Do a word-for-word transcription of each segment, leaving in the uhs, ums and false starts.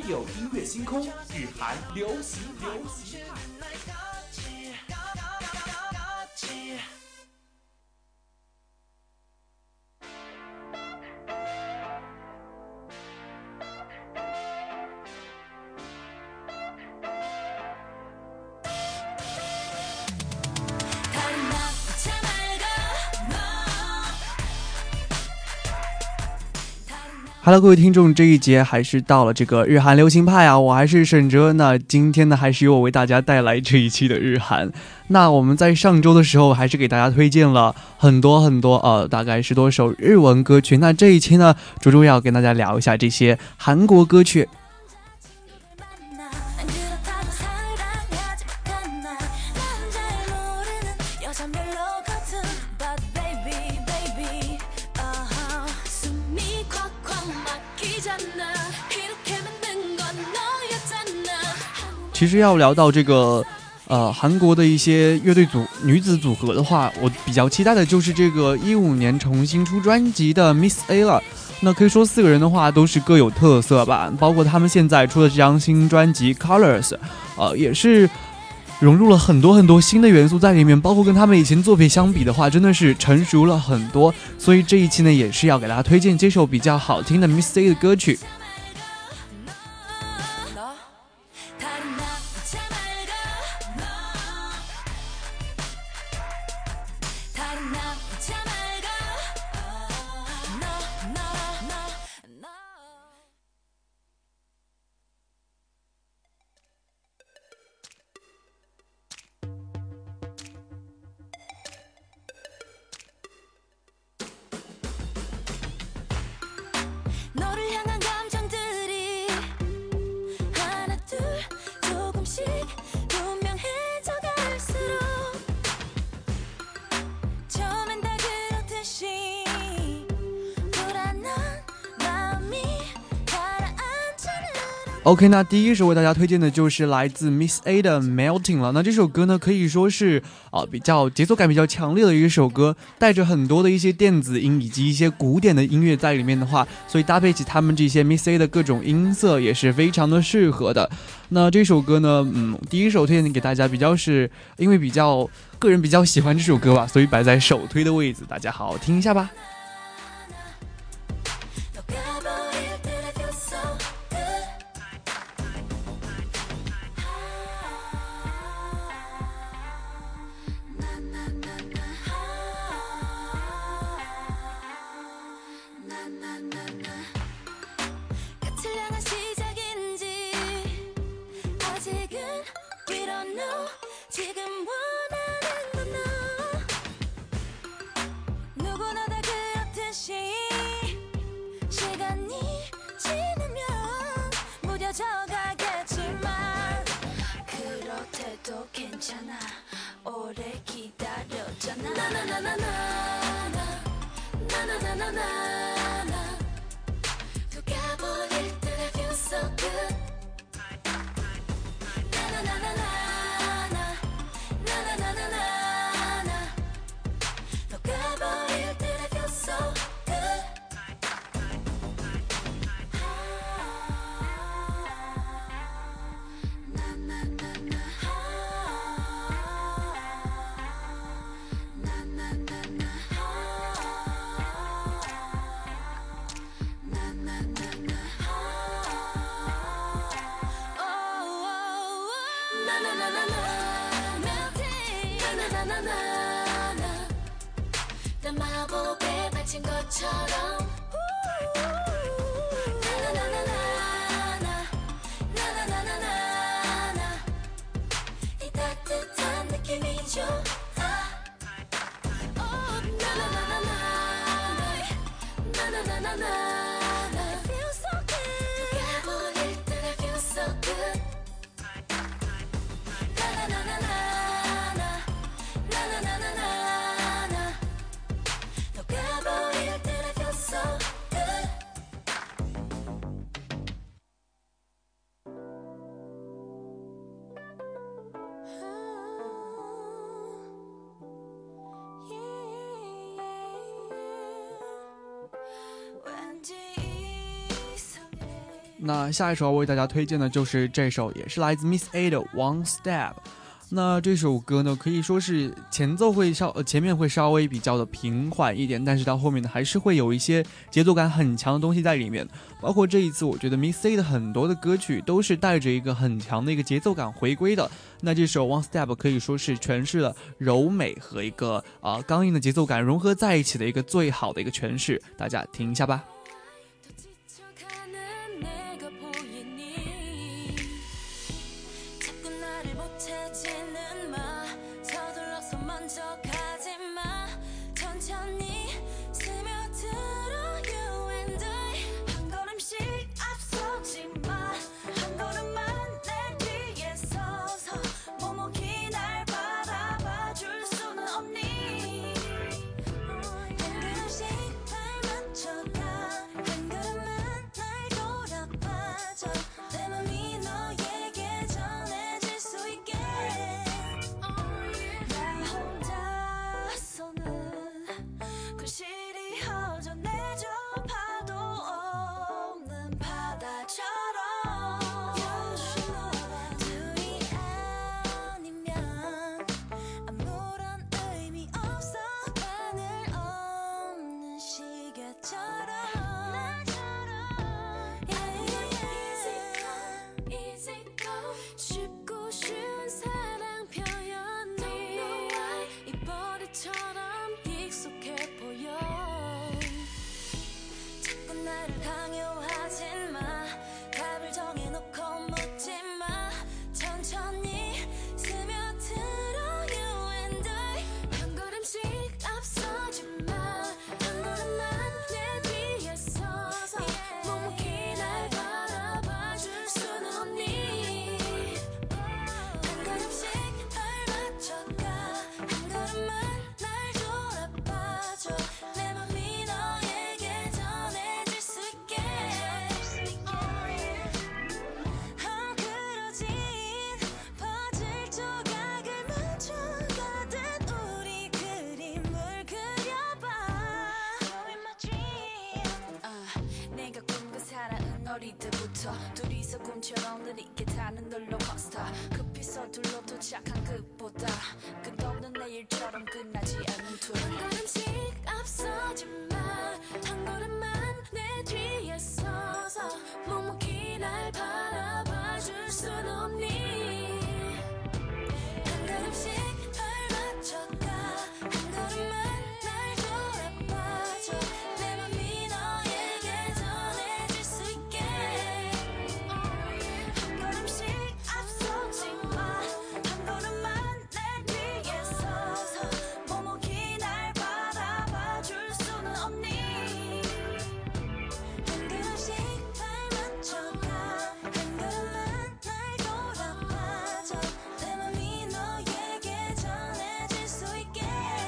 有音乐星空，日韩流行流行派。 Hello， 各位听众，这一节还是到了这个日韩流行派啊，我还是沈哲。那今天呢，还是由我为大家带来这一期的日韩。那我们在上周的时候，还是给大家推荐了很多很多呃，大概十多首日文歌曲。那这一期呢，着重要跟大家聊一下这些韩国歌曲。其实要聊到这个呃韩国的一些乐队组女子组合的话，我比较期待的就是这个一五年重新出专辑的 Miss A 了。那可以说四个人的话都是各有特色吧，包括他们现在出的这张新专辑 Colors， 呃也是融入了很多很多新的元素在里面，包括跟他们以前作品相比的话，真的是成熟了很多。所以这一期呢，也是要给大家推荐这首比较好听的 Miss A 的歌曲。OK， 那第一首为大家推荐的就是来自 Miss A 的 Melting 了。那这首歌呢，可以说是啊、呃、比较节奏感比较强烈的一首歌，带着很多的一些电子音以及一些古典的音乐在里面的话，所以搭配起他们这些 Miss A 的各种音色也是非常的适合的。那这首歌呢，嗯，第一首推荐给大家，比较是因为比较个人比较喜欢这首歌吧，所以摆在首推的位置，大家好好听一下吧。 那下一首要为大家推荐的就是这首，也是来自 Miss A 的 One Step。那这首歌呢，可以说是前奏会稍呃前面会稍微比较的平缓一点，但是到后面呢，还是会有一些节奏感很强的东西在里面。包括这一次，我觉得 Miss A 的很多的歌曲都是带着一个很强的一个节奏感回归的。那这首 One Step 可以说是诠释了柔美和一个啊、呃、刚硬的节奏感融合在一起的一个最好的一个诠释，大家听一下吧。 어릴 때부터 둘이서 꿈처럼 느리게 타는 롤러코스터 급히 서둘러 도착한 끝보다 끝없는 내일처럼 끝나지 않는 투어 한 걸음씩 앞서지마 한 걸음만 내 뒤에 서서 묵묵히 날 바라봐 줄 순 없니 한 걸음씩 발 맞춰가 한 걸음만 날 돌아봐줘 내 맘이 너에게 전해질 수 있게 한 걸음씩 앞서지마 한 걸음만 내 뒤에 서서 묵묵히 날 바라봐 줄 수는 없니 한 걸음씩 발 맞춰가 한 걸음만 날 돌아봐줘 내 맘이 너에게 전해질 수 있게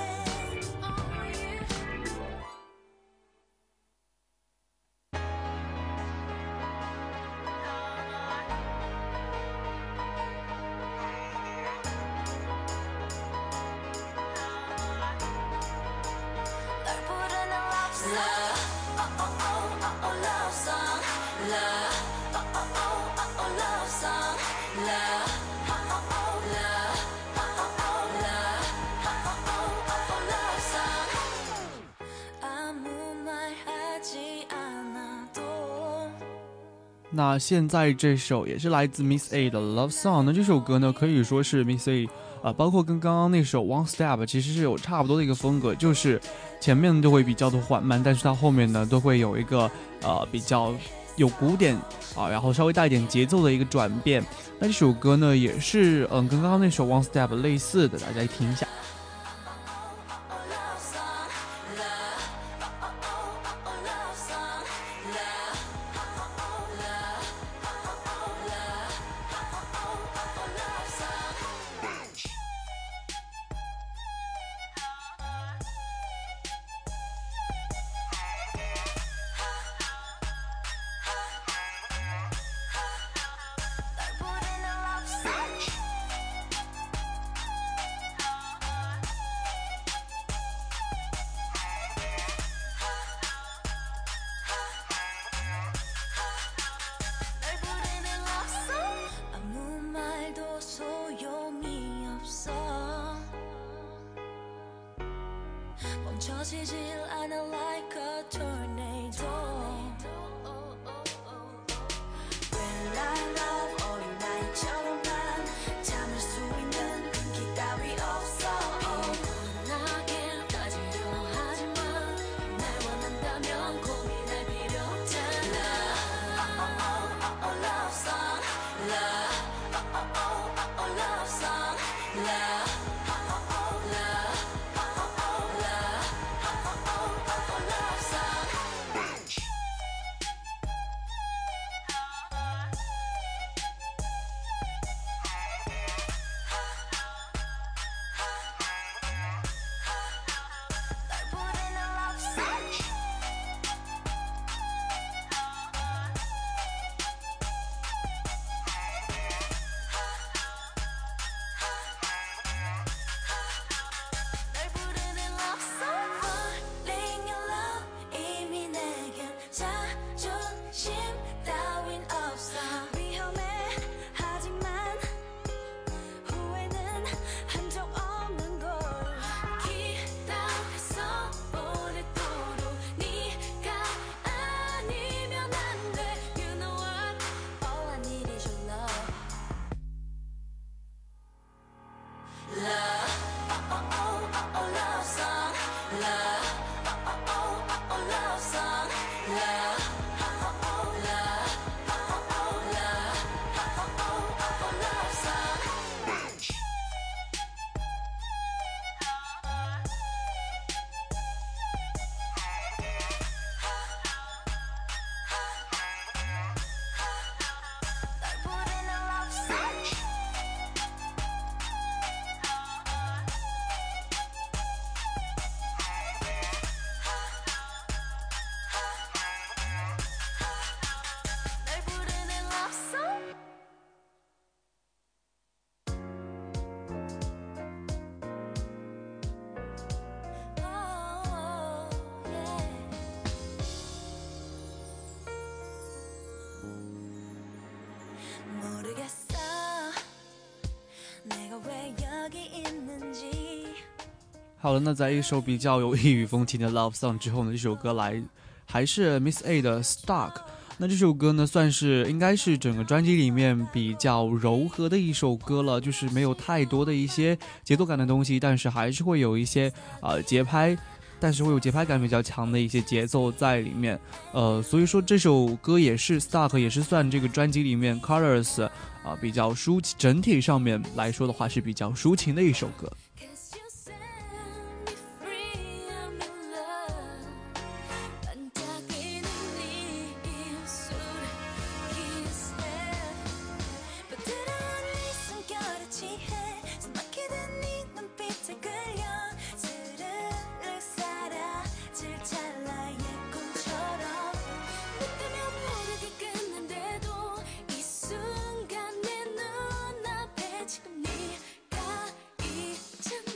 널 부르는 love song oh oh oh oh oh love song love oh oh oh oh oh love song love oh oh oh love oh oh oh love oh oh oh oh love song 아무 말 하지 않아도 那现在这首也是来自 Miss A 的 Love Song。那这首歌呢，可以说是 Miss A 呃，包括跟刚刚那首 One Step 其实是有差不多的一个风格，就是前面都会比较的缓慢，但是到后面呢都会有一个呃比较有鼓点啊，然后稍微带一点节奏的一个转变。那这首歌呢也是嗯跟刚刚那首 One Step 类似的，大家听一下。 널 부르는 love song 멈추질 않아 like a tornado Will I love all night처럼만 참을 수 있는 끈기 따위 없어 원하게 따지려 하지만 날 원한다면 고민할 필요 없잖아 Oh oh oh oh love song Love Oh oh oh oh oh love song Love Oh oh oh love Oh oh oh love Oh oh oh oh love song 널 부르는 love song 널 부르는 love song Falling in love 이미 내겐 자존심 따윈 없어 위험해 하지만 후회는 한 적 없는 걸 기다렸어 오랫도록 네가 아니면 안 돼 You know what All I need is your love Love Oh oh oh oh oh love song Love Oh oh oh oh oh love song Love Oh oh oh love Oh oh oh love Oh oh oh oh love song 널 부르는 love song 널 부르는 love song Oh yeah 모르겠어 내가 왜 여기 있는지 好了，那在一首比较有异域风情的 Love Song 之后呢，这首歌来还是 Miss A 的 Stuck。那这首歌呢，算是应该是整个专辑里面比较柔和的一首歌了，就是没有太多的一些节奏感的东西，但是还是会有一些呃节拍，但是会有节拍感比较强的一些节奏在里面。呃，所以说这首歌也是 Stuck， 也是算这个专辑里面 Colors 啊、呃、比较抒情，整体上面来说的话是比较抒情的一首歌。 Cause you set me free, I'm in love 반짝이는 네 입술에 kiss 부드러운 네 숨결에 취해 숨막히던 네 눈빛에 끌려 스르륵 사라질 찰나의 꿈처럼 너 때문에 모르게 끝난데도 이 순간 내 눈앞에 지금 네가 있잖아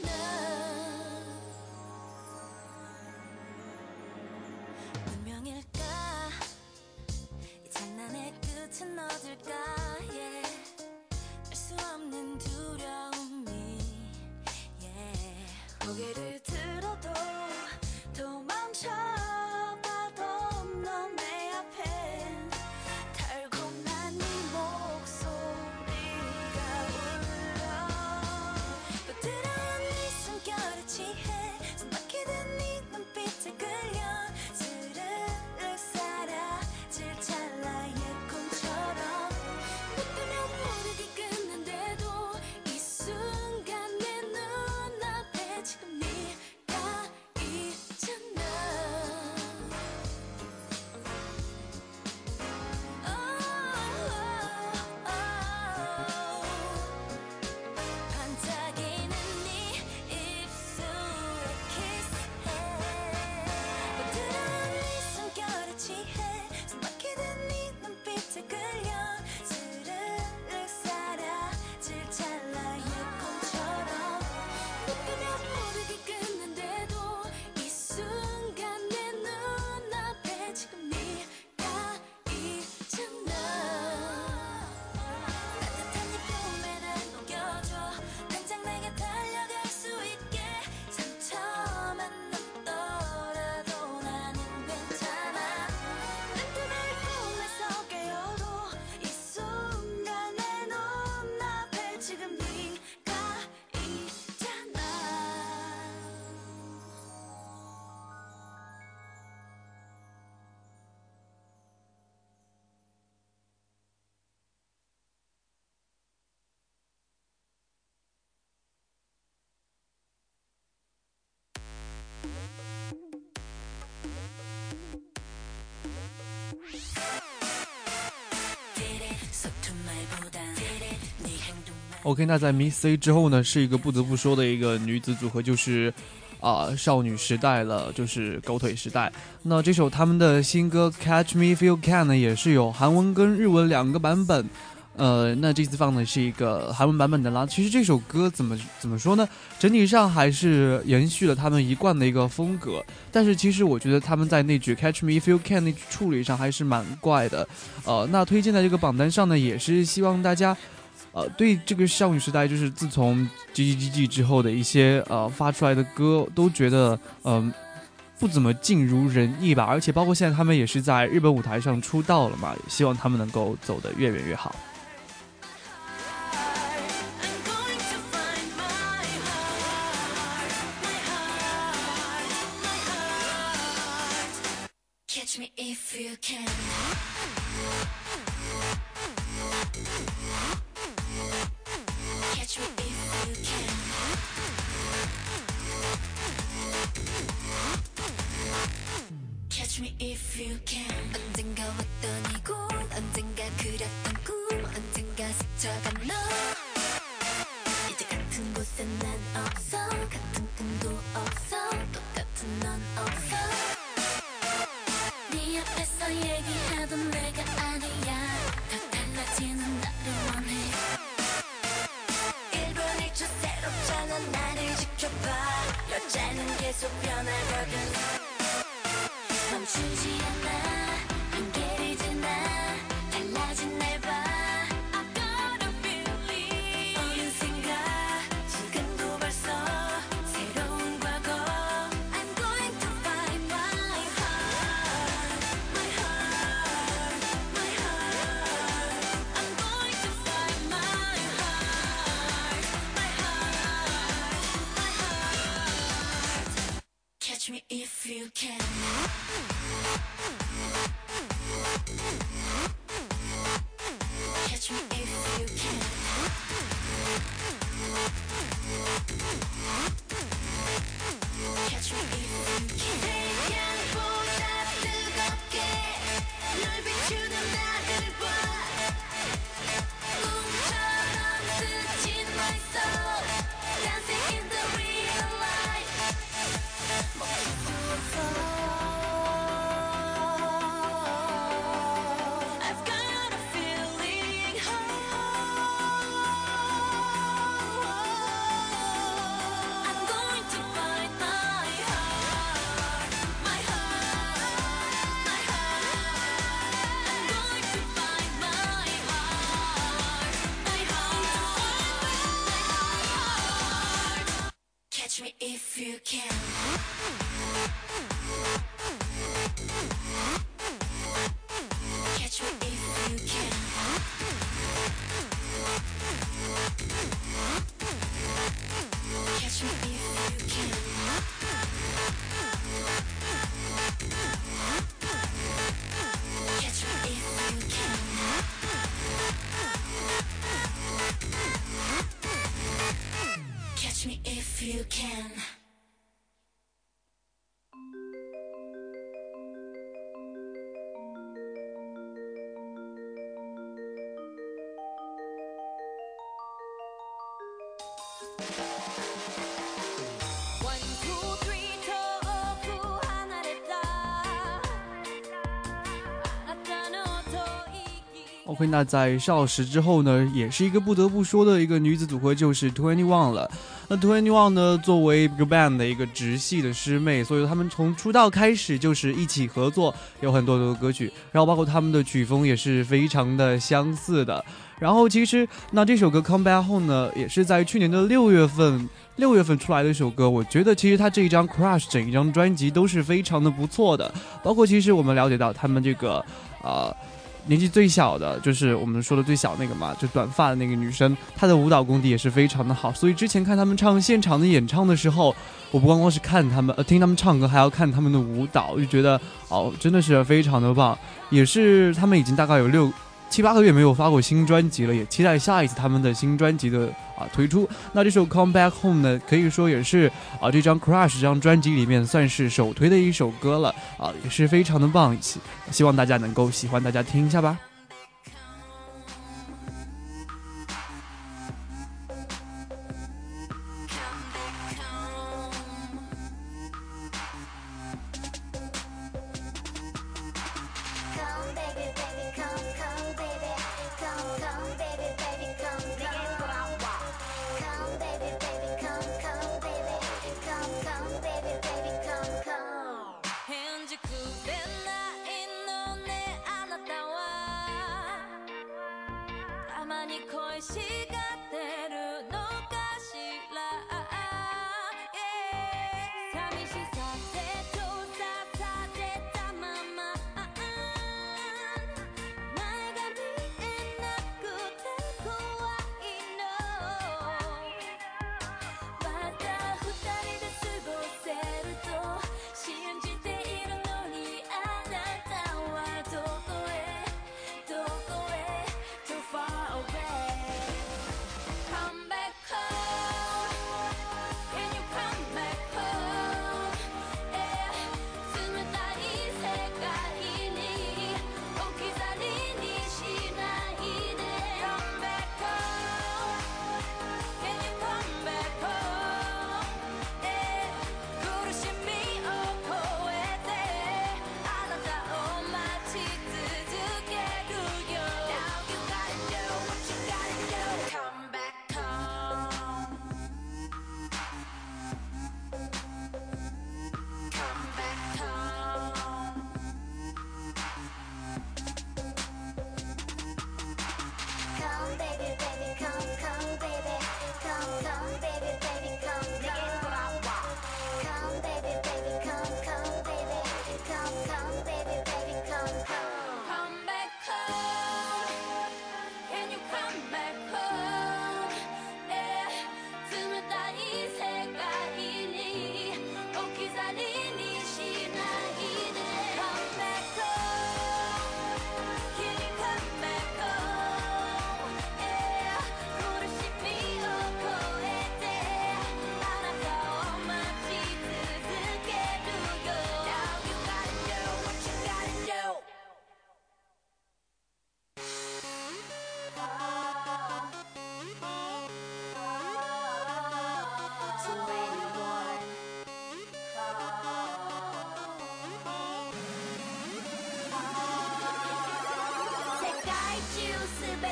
OK， 那在 Miss A 之后呢，是一个不得不说的一个女子组合，就是啊、呃、少女时代了，就是狗腿时代。那这首他们的新歌 Catch Me If You Can 呢，也是有韩文跟日文两个版本。呃，那这次放的是一个韩文版本的啦。其实这首歌怎么怎么说呢？整体上还是延续了他们一贯的一个风格，但是其实我觉得他们在那句 Catch Me If You Can 那句处理上还是蛮怪的。呃，那推荐在这个榜单上呢，也是希望大家。呃，对这个少女时代，就是自从 G G G G 之后的一些呃发出来的歌，都觉得嗯、呃、不怎么尽如人意吧。而且包括现在他们也是在日本舞台上出道了嘛，也希望他们能够走得越远越好。 Catch me if you can. Catch me if you can. Catch me if you can. 언젠가 왔던 이곳, 언젠가 그렸던 꿈, 언젠가 스쳐간 너. 이제 같은 곳에 난 없어, 같은 꿈도 없어, 똑같은 넌 없어. 네 앞에서 얘기하던 내가 아니야. 더 달라지는 나를 원해. 일본 일 초 새롭잖아. 나를 지켜봐. 여자는 계속 변하거든. 멈추지 않아. 한계를 지나. 달라진 날 봐. I've got a feeling. 어느 생각 지금도 벌써 새로운 과거. I'm going to find my heart. My heart. My heart. I'm going to find my heart. My heart. My heart. Catch me if you can. Catch me if you can. Catch me if you can. 태양보다 뜨겁게 널 비추는 나를 봐. 꿈처럼 스친 my soul. Dancing in the real life. 멈출 수 없어. I've got a feeling. I'm going to find my heart. My heart. My heart. I'm going to find my heart. My heart. Catch me if you can. Catch me if you can. Catch me if you can. Catch me if you can. Catch me if you can. One, two, three, 저 오구 하나랬다. 알았다는 어떠이기. OK， 那在少时之后呢，也是一个不得不说的一个女子组合，就是 Twenty One 了。那 Twenty One 呢，作为 BigBang 的一个直系的师妹，所以他们从出道开始就是一起合作，有很多的歌曲，然后包括他们的曲风也是非常的相似的。然后其实那这首歌 Come Back Home 呢，也是在去年的六月份。六月份出来的一首歌，我觉得其实他这一张 Crush 整一张专辑都是非常的不错的，包括其实我们了解到他们这个呃年纪最小的，就是我们说的最小那个嘛，就短发的那个女生，她的舞蹈功底也是非常的好，所以之前看他们唱现场的演唱的时候，我不光光是看他们呃听他们唱歌，还要看他们的舞蹈，就觉得哦真的是非常的棒，也是他们已经大概有六七八个月没有发过新专辑了，也期待下一次他们的新专辑的啊推出。那这首 Come Back Home 呢，可以说也是啊这张 Crush 这张专辑里面算是首推的一首歌了啊，也是非常的棒，希希望大家能够喜欢，大家听一下吧。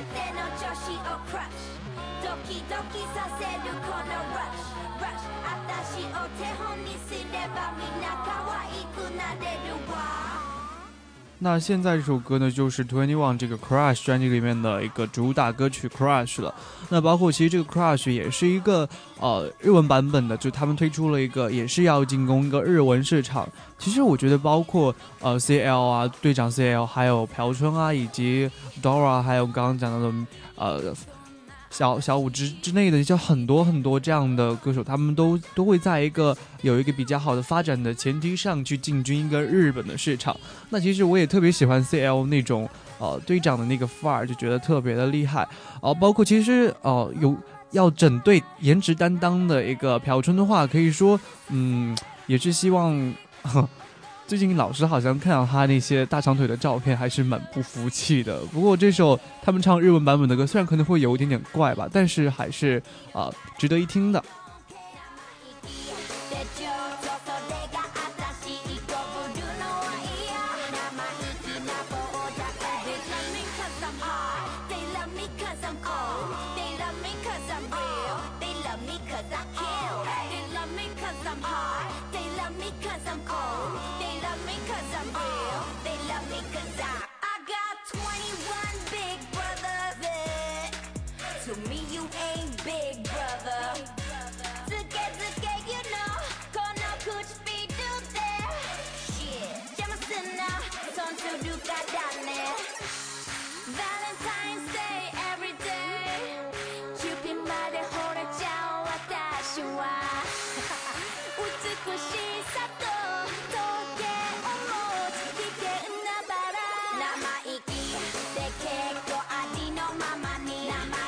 ての調子をクラッシュドキドキさせるこのラッシュラッシュ私を手本にすればみんな可愛くなれるわ。 那现在这首歌呢，就是 Twenty One 这个 Crush 专辑里面的一个主打歌曲 Crush 了。那包括其实这个 Crush 也是一个呃日文版本的，就他们推出了一个也是要进攻一个日文市场。其实我觉得包括呃 C L 啊，队长 C L， 还有朴春啊，以及 Dora， 还有刚刚讲到的呃。小小五之之内的，就很多很多这样的歌手，他们都都会在一个有一个比较好的发展的前提上去进军一个日本的市场。那其实我也特别喜欢 C L 那种呃队长的那个范儿，就觉得特别的厉害。哦、呃，包括其实呃有要整队颜值担当的一个朴春的话，可以说嗯也是希望。呵最近老师好像看到他那些大长腿的照片，还是蛮不服气的。不过这首他们唱日文版本的歌，虽然可能会有一点点怪吧，但是还是啊、呃、值得一听的。 To me you ain't big brother つけつけ you know この口火どうで shit 邪魔すんな損するからね Valentine's Day every day キューピンまで惚れちゃう私は美しさと時計を持つ危険なバラ生意気で結構味のままに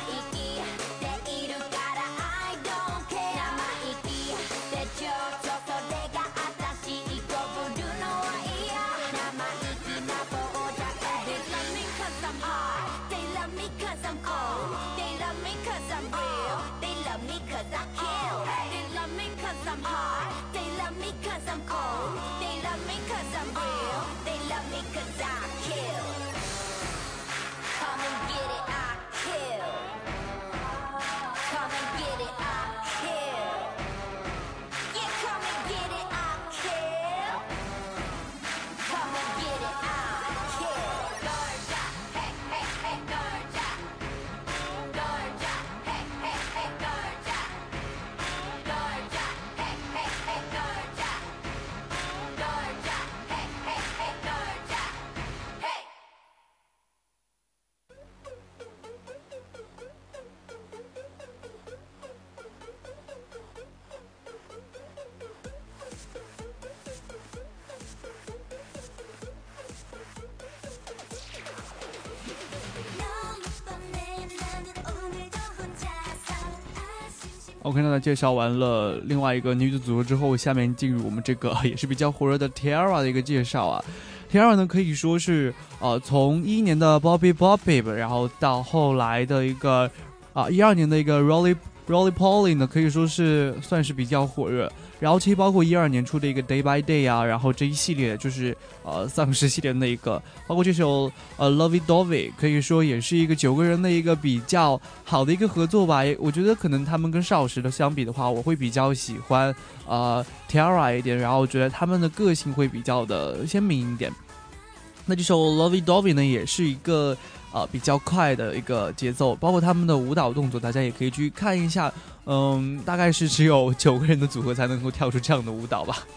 OK， 那介绍完了另外一个女子组合之后，下面进入我们这个也是比较火热的 T-ara 的一个介绍啊。T-ara 呢可以说是呃从一一年的 Bobby Bobby， 然后到后来的一个啊一二年的一个 Rolly Rolly Polly 呢，可以说是算是比较火热。然后其实包括一二年出的一个 Day by Day 啊，然后这一系列就是呃丧尸系列的一个，包括这首呃 Lovey Dovey， 可以说也是一个九个人的一个比较好的一个合作吧。我觉得可能他们跟少时的相比的话，我会比较喜欢呃 T-ara 一点，然后我觉得他们的个性会比较的鲜明一点。那这首 Lovey Dovey 呢，也是一个呃比较快的一个节奏，包括他们的舞蹈动作，大家也可以去看一下。嗯，大概是只有九个人的组合才能够跳出这样的舞蹈吧。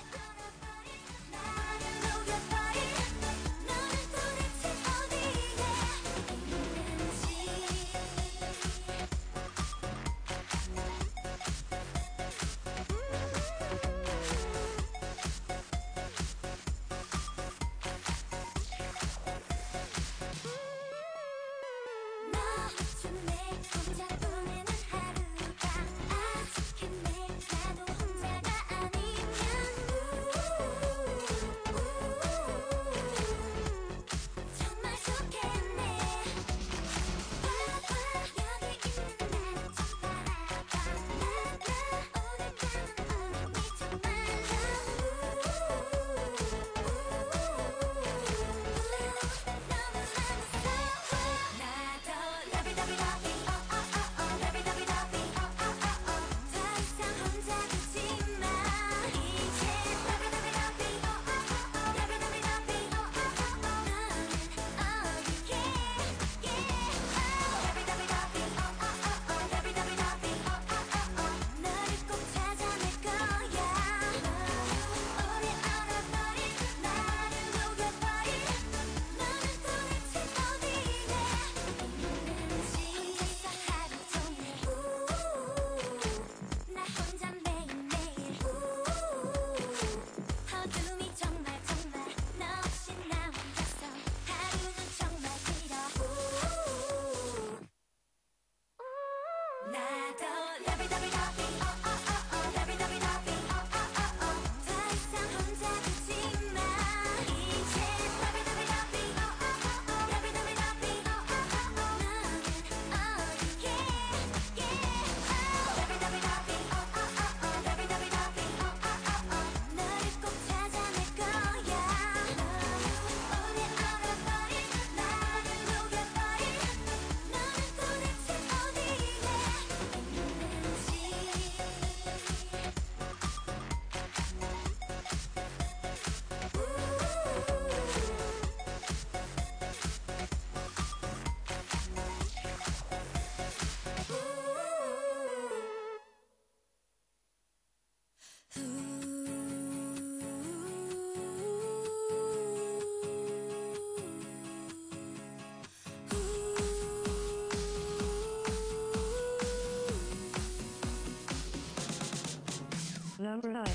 Number nine.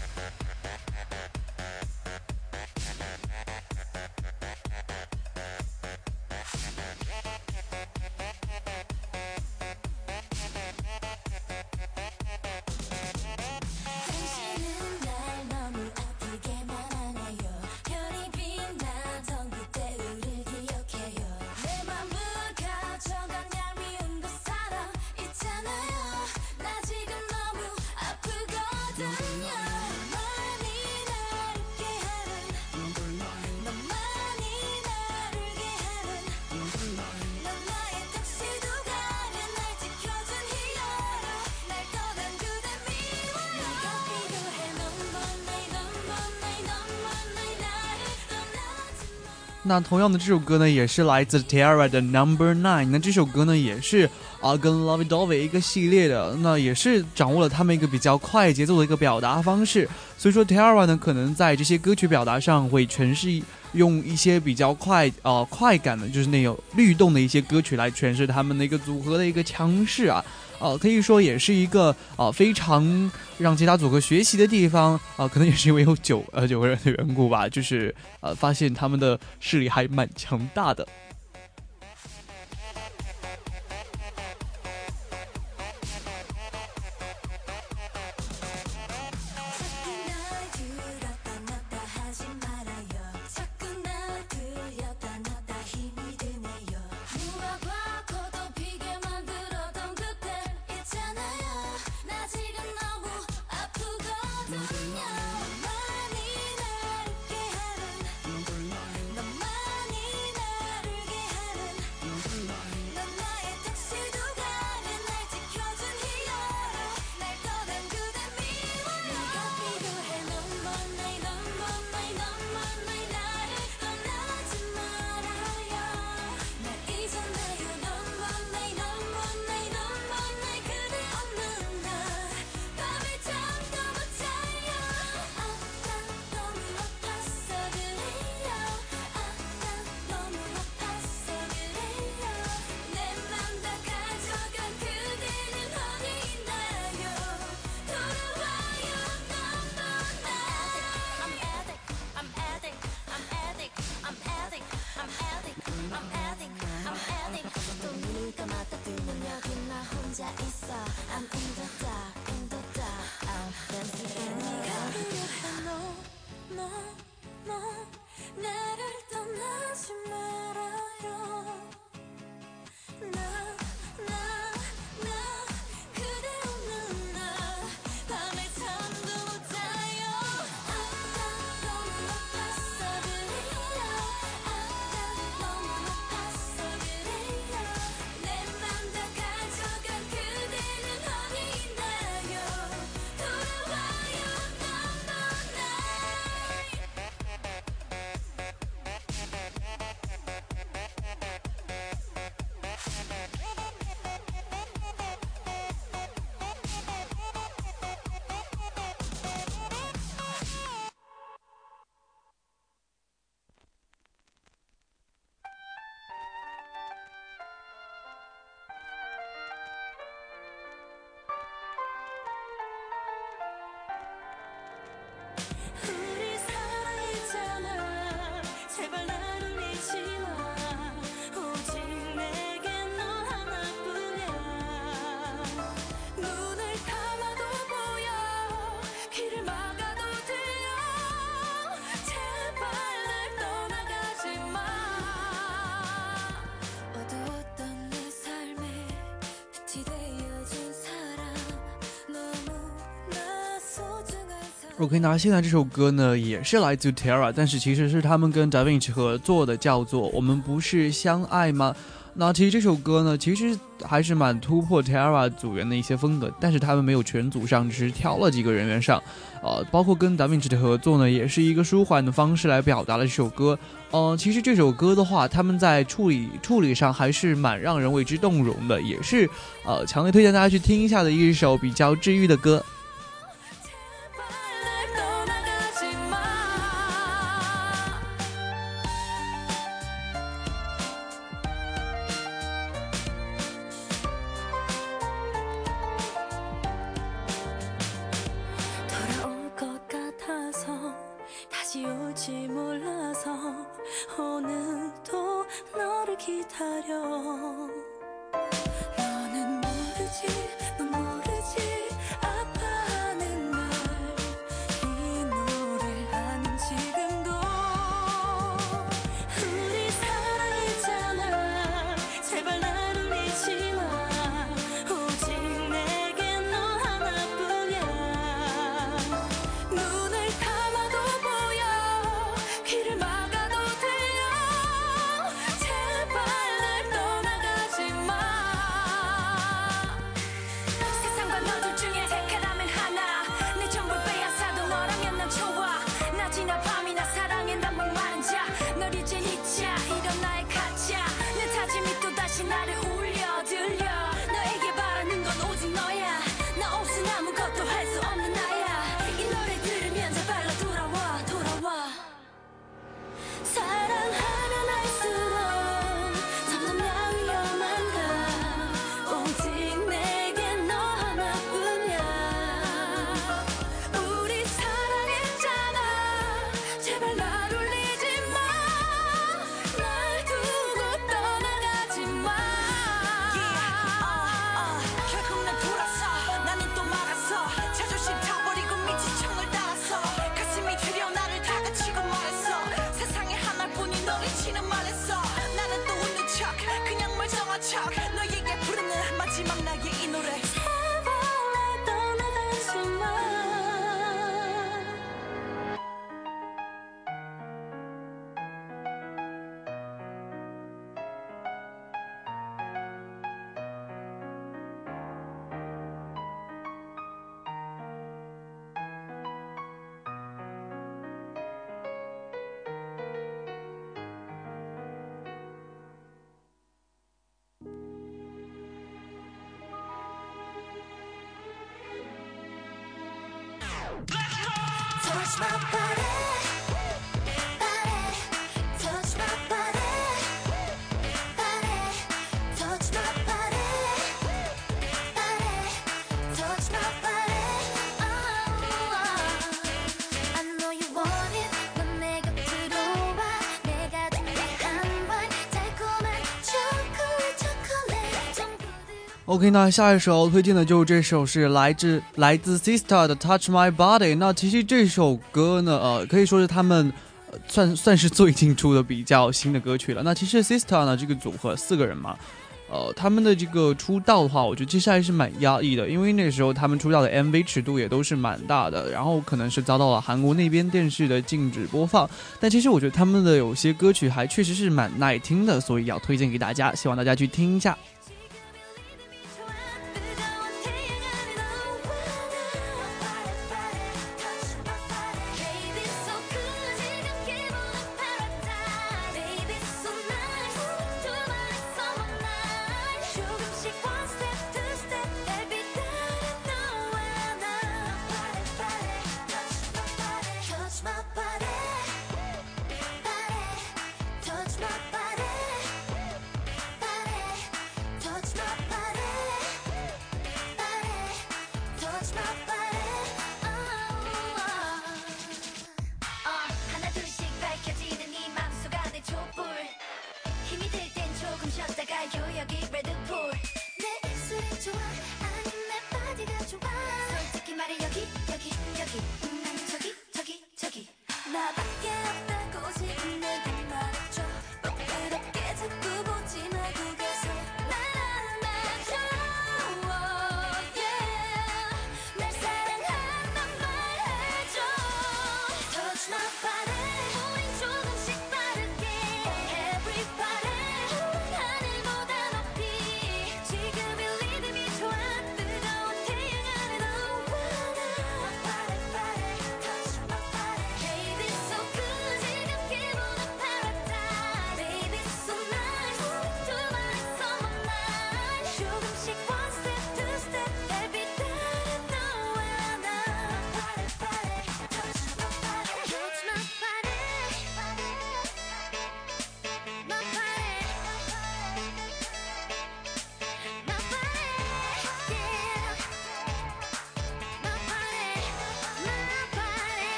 당신은 날 너무 아프게만 하네요. 별이 빛나 던 그때 우릴 기억해요. 내 맘을 가져간 얄미운 그 사람 있잖아요. 나 지금 너무 아프거든요. 너만이 날 웃게 하는, 너만이 날 울게 하는, 넌 나의 턱시도가 날 지켜준 히어로. 날 떠난 그대 미워요. 네가 필요해. Number nine, number nine, number nine. 나를 떠나지 마. 那同样的这首歌呢，也是来自 T-ara 的 Number Nine。那这首歌呢，也是啊跟 Lovey Dovey 一个系列的，那也是掌握了他们一个比较快节奏的一个表达方式。所以说 T-ara 呢，可能在这些歌曲表达上会诠释用一些比较快呃快感的，就是那种律动的一些歌曲来诠释他们的一个组合的一个强势啊。呃，可以说也是一个呃非常让其他组合学习的地方啊、呃，可能也是因为有九呃九个人的缘故吧，就是呃发现他们的势力还蛮强大的。OK， 那现在这首歌呢也是来自 T-ara， 但是其实是他们跟 Da Vinci 合作的，叫做《我们不是相爱吗》。那其实这首歌呢，其实还是蛮突破 T-ara 组员的一些风格，但是他们没有全组上，只是挑了几个人员上，呃，包括跟 Da Vinci 的合作呢，也是一个舒缓的方式来表达了这首歌。呃，其实这首歌的话，他们在处理处理上还是蛮让人为之动容的，也是呃强烈推荐大家去听一下的一首比较治愈的歌。 타령 너는 모르지 넌 모르지 아파하는 날 이 노래하는 지금도 우리 사랑했잖아 제발 날 울리지 마 오직 내게 너 하나뿐이야 눈을 감아도 보여 귀를 막아도 들려 제발 날 떠나가지 마 세상과 너 둘 중에 택하라면 하나 내 전부 빼앗아도 너라면 난 좋아 낮이나 밤이나 사랑에 난 목마른 자널 이젠 잊자 이런 나의 가짜 내 다짐이 또다시 나를 울려 들려 너에게 바라는 건 오직 너야 나 없은 아무것도 할 수 없는 나야 이 노래 들으면 제발 너 돌아와 돌아와 사랑하면 할수록 점점 나 위험한가 오직 내게 너 하나뿐이야 우리 사랑했잖아 제발 날 울리지 마날 두고 떠나가지 마 결국 난 돌아서 나는 또 말았어 자존심 타버리고 미친 척을 따라서 가슴이 저려 나를 다그치고 말했어 세상에 하나뿐인 너를 치는 말했어 나는 또 웃는 척 그냥 멀쩡한 척 너에게 부르는 마지막 나의 이 노래 제발 날 떠나가지 마 Touch my body, body, touch my body, body, touch my body, body, touch my body. Oh, I know you want it. 넌 내 곁으로 와. 내가 준비 한번 달콤한 초콜릿 초콜릿 좀 부드러운. OK， 那下一首推荐的就是这首是来自来自 Sistar 的 Touch My Body。那其实这首歌呢，呃，可以说是他们、呃、算算是最近出的比较新的歌曲了。那其实 Sistar 呢这个组合四个人嘛，呃，他们的这个出道的话，我觉得其实还是蛮压抑的，因为那时候他们出道的 M V 尺度也都是蛮大的，然后可能是遭到了韩国那边电视的禁止播放。但其实我觉得他们的有些歌曲还确实是蛮耐听的，所以要推荐给大家，希望大家去听一下。 Touch my body, body, touch my body, body,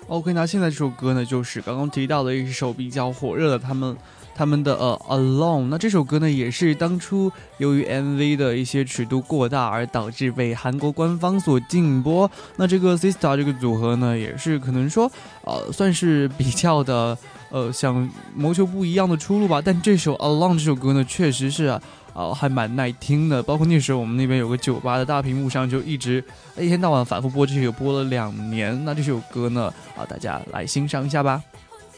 OK， 那现在这首歌呢，就是刚刚提到的一首比较火热的他们他们的呃 Alone。那这首歌呢，也是当初由于 M V 的一些尺度过大而导致被韩国官方所禁播。那这个 Sistar 这个组合呢，也是可能说呃算是比较的呃想谋求不一样的出路吧。但这首 Alone 这首歌呢，确实是啊。哦，还蛮耐听的，包括那时候我们那边有个酒吧的大屏幕上就一直一天到晚反复播这首，播了两年。那这首歌呢，啊，大家来欣赏一下吧。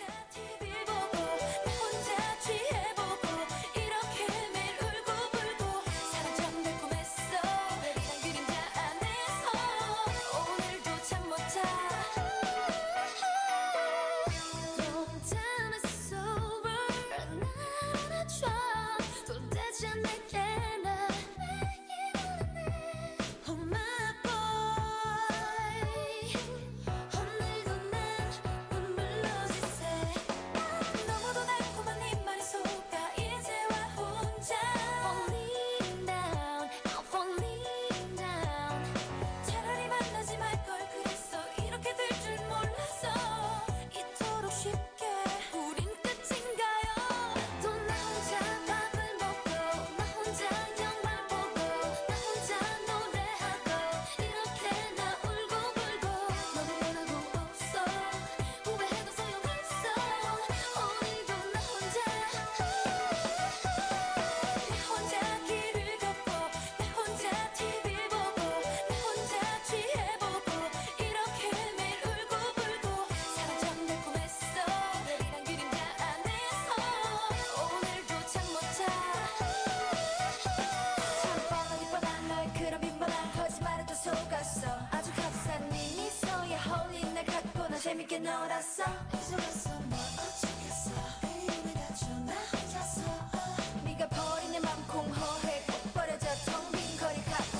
재밌게 놀았어 속았어 뭐 어쩌겠어 이미 다쳐 나 혼자서 네가 버린 내 맘 공허해 꼭 버려져 텅 빈 거리 같아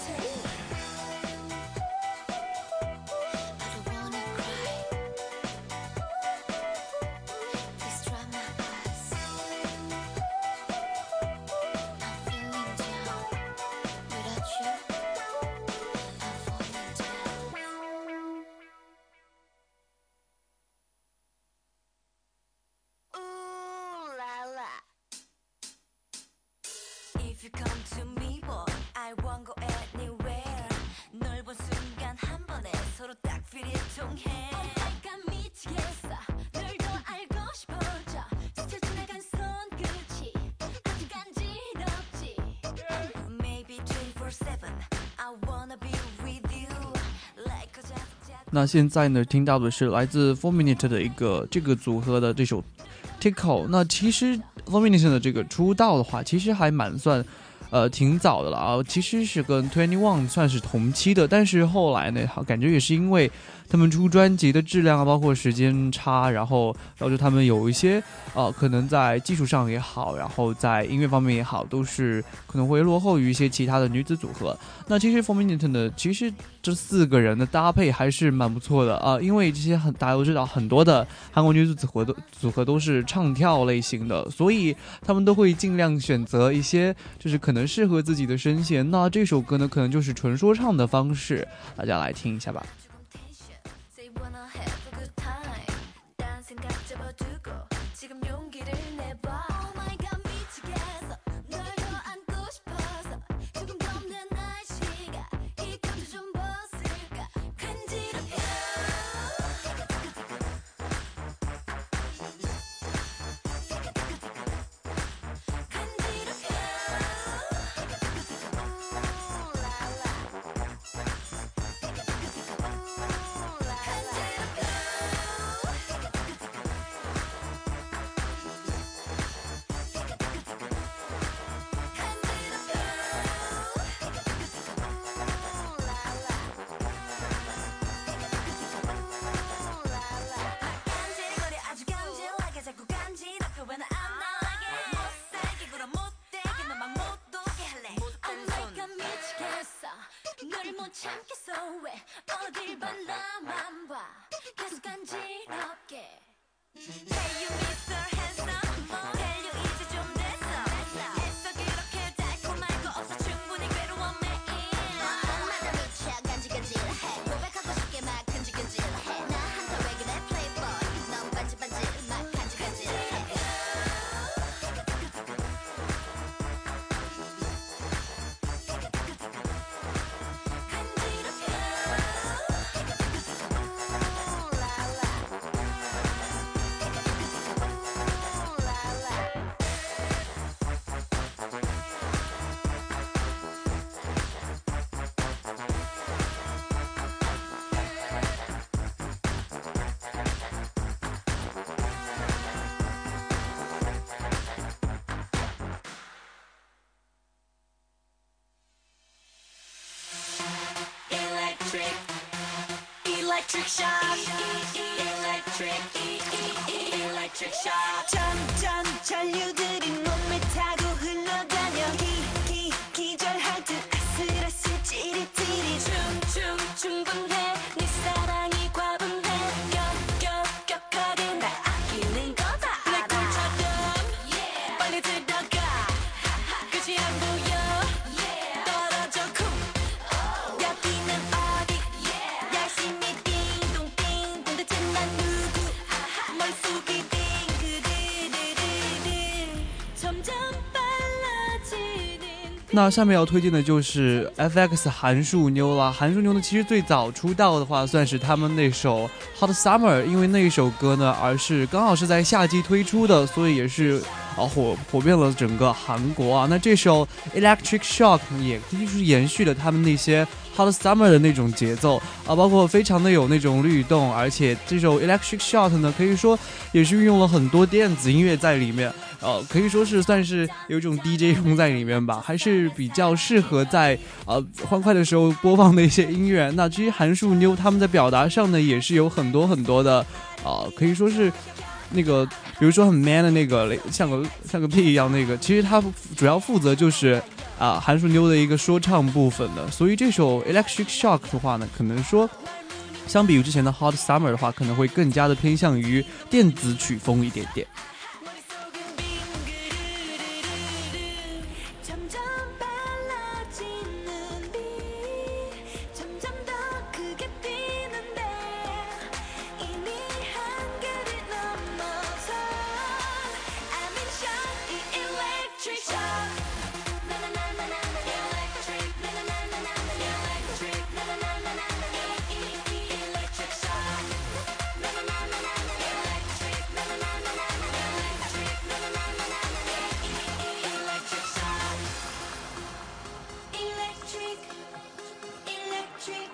I don't wanna cry Please dry my eyes I'm feeling down Without you I'm falling down If you come to me, boy, I won't go anywhere. 널 본 순간 한 번에 서로 딱 필이 통해. 내가 미치겠어. 널 더 알고 싶어져. 스쳐 지나간 손끝이 아주 간지럽지. Maybe twenty-four seven. I wanna be with you. Like a just. 那现在呢，听到的是来自four minute 的一个这个组合的这首 Tickle。那其实four minute 的这个出道的话，其实还蛮算呃挺早的了啊，其实是跟twenty one算是同期的，但是后来呢，感觉也是因为他们出专辑的质量啊，包括时间差，然后导致他们有一些呃可能在技术上也好，然后在音乐方面也好，都是可能会落后于一些其他的女子组合。那其实four minute 呢，其实这四个人的搭配还是蛮不错的啊、呃，因为这些很大家都知道，很多的韩国女子组合都组合都是唱跳类型的，所以他们都会尽量选择一些就是可能适合自己的声线。那这首歌呢，可能就是纯说唱的方式，大家来听一下吧。 참겠어 왜 어딜 봐 나만 봐 계속 간지럽게 Hey you Mister Handsome Tell you 이제 좀 됐어 애써 그렇게 달콤할 거 없어 충분히 괴로워 매일 밤마다 미쳐 간지간지해 고백하고 싶게 막 근질근질해 나 한타 왜 그래 play electric shock electric electric shock 점점 전류들이 몸을 타고 흘러다녀 기, 기, 기절할 듯 아슬아슬 찌릿찌릿 충충 충분해 네 사랑이 과분해 격격격하게 날 아끼는 거다 알아 내 꿀처럼 빨리 들어가 끝이 안 보여 떨어져 쿵 여기는 어디 열심히 띵동띵동 대체 난 누구 머릿속이 띵그르르르르 점점 빨라지는 那下面要推荐的就是 F X 韩束妞啦。韩束妞呢，其实最早出道的话，算是他们那首 Hot Summer， 因为那一首歌呢，而是刚好是在夏季推出的，所以也是啊火火遍了整个韩国啊。那这首 Electric Shock 也就是延续了他们那些 Hot Summer 的那种节奏啊，包括非常的有那种律动，而且这首 Electric Shock 呢，可以说也是运用了很多电子音乐在里面。呃，可以说是算是有一种 D J 风在里面吧，还是比较适合在呃欢快的时候播放的一些音乐。那至于韩束妞他们在表达上呢，也是有很多很多的，呃，可以说是那个，比如说很 man 的那个，像个像个屁一样那个，其实他主要负责就是啊、呃、韩束妞的一个说唱部分的。所以这首 Electric Shock 的话呢，可能说相比于之前的 Hot Summer 的话，可能会更加的偏向于电子曲风一点点。 점점 빨라지는 빛 점점 더 크게 뛰는데 이미 한계를 넘어서 I'm in shock 이 electric shock 나나나나나 electric 나나나나나 electric 나나나나나 이 electric shock 나나나나나 electric 나나나나나 electric 나나나나나 이 electric shock electric electric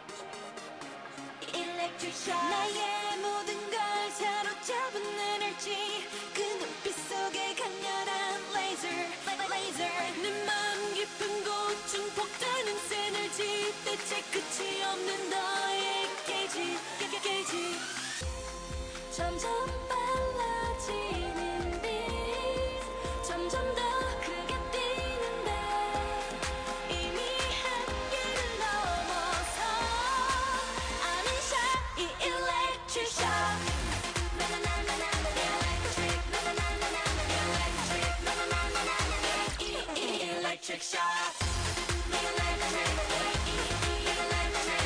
electric shock 나의 모든 걸 사로잡은 에너지 그 눈빛 속에 강렬한 laser laser 내 맘 깊은 곳 증폭되는 에너지 대체 끝이 없는 너의 게이지 게이지 점점 빨라지는 빛 점점 더 크게 뛰는데 이미 한계를 넘어서 I'm in shock 이 electric shock 나나나나나 electric 나나나나나 electric 나나나나나 이 electric shock electric electric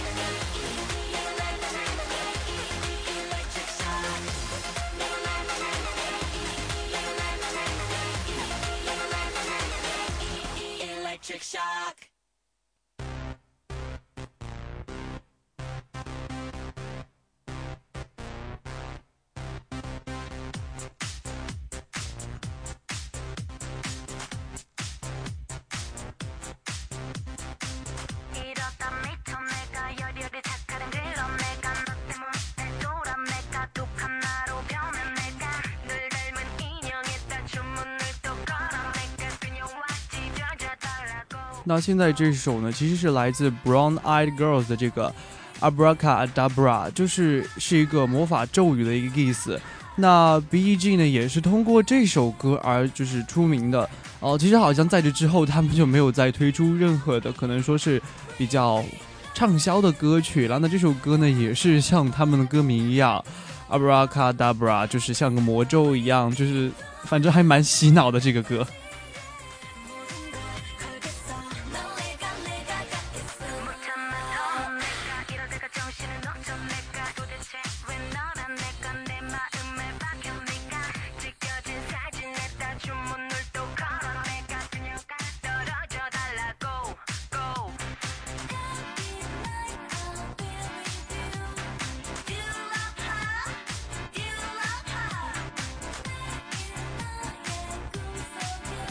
electric shock electric shock 이러다 미쳐 내가 열혈이 착하는 그런 내가 너 때문에 돌아 내가 독한 나로 변해 내가 늘 닮은 인형에다 주문을 또 걸어 내가 그녀와 찢어져달라고 那现在这首呢，其实是来自 Brown Eyed Girls 的这个 Abracadabra， 就是是一个魔法咒语的一个意思。那 B E G 呢，也是通过这首歌而就是出名的。哦、呃，其实好像在这之后，他们就没有再推出任何的可能说是比较畅销的歌曲了。那这首歌呢，也是像他们的歌名一样 ，Abracadabra， 就是像个魔咒一样，就是反正还蛮洗脑的这个歌。 You love her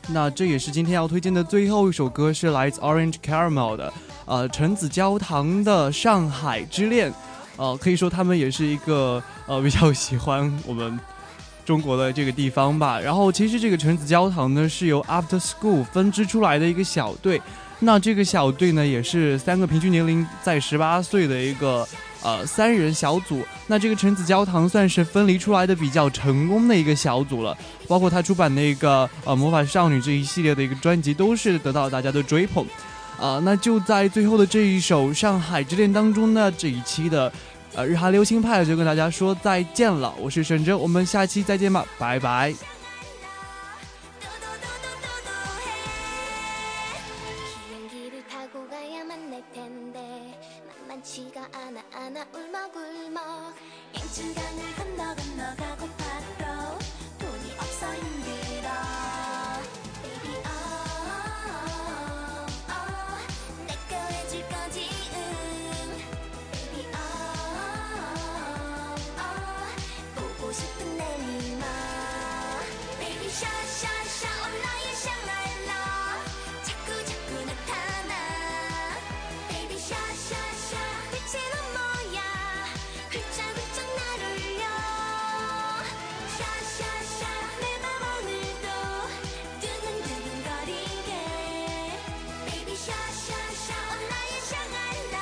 那这也是今天要推荐的最后一首歌，是来自 Orange Caramel 的呃橙子焦糖的《上海之恋》。呃，可以说他们也是一个呃比较喜欢我们中国的这个地方吧。然后其实这个橙子焦糖呢是由 After School 分支出来的一个小队，那这个小队呢也是三个平均年龄在十八岁的一个呃三人小组。那这个橙子焦糖算是分离出来的比较成功的一个小组了，包括他出版的一个呃魔法少女这一系列的一个专辑都是得到大家的追捧。呃，那就在最后的这一首《上海之恋》当中呢，这一期的呃日韩流行派就跟大家说再见了，我是沈哲，我们下期再见吧，拜拜。 비행기를 타고 가야만 날 텐데 만만치가 않아 않아 울먹울먹 양천강을 건너 건너 가고파도 돈이 없어 힘들어 Baby oh, oh, oh 내 거 해줄 거지 응 Baby oh, oh, oh 보고 싶은 내 니마 Baby 샤샤샤 온 나의 샹랄라 자꾸 자꾸 나타나 Baby 샤샤샤 빛이 넌 뭐야 훌쩍훌쩍 날 울려 샤샤샤 내 맘 오늘도 두근두근거리게 Baby 샤샤샤 온 나의 샹랄라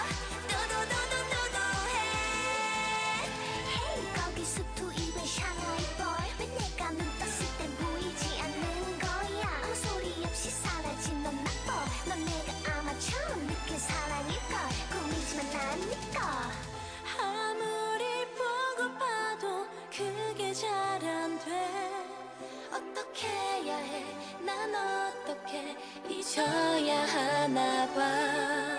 도도도도도도해 Hey 거기 수트 입은 샹하이 boy 왜 내가 눈 떴을 땐 보이지 않는 거야 아무 소리 없이 사라진 넌 나빠 넌 내가 아마 처음 느낀 사랑일걸 꿈이지만 난 믿고 아무리 보고 봐도 그게 잘 안 돼 어떻게 해야 해 난 어떻게 잊어야 하나 봐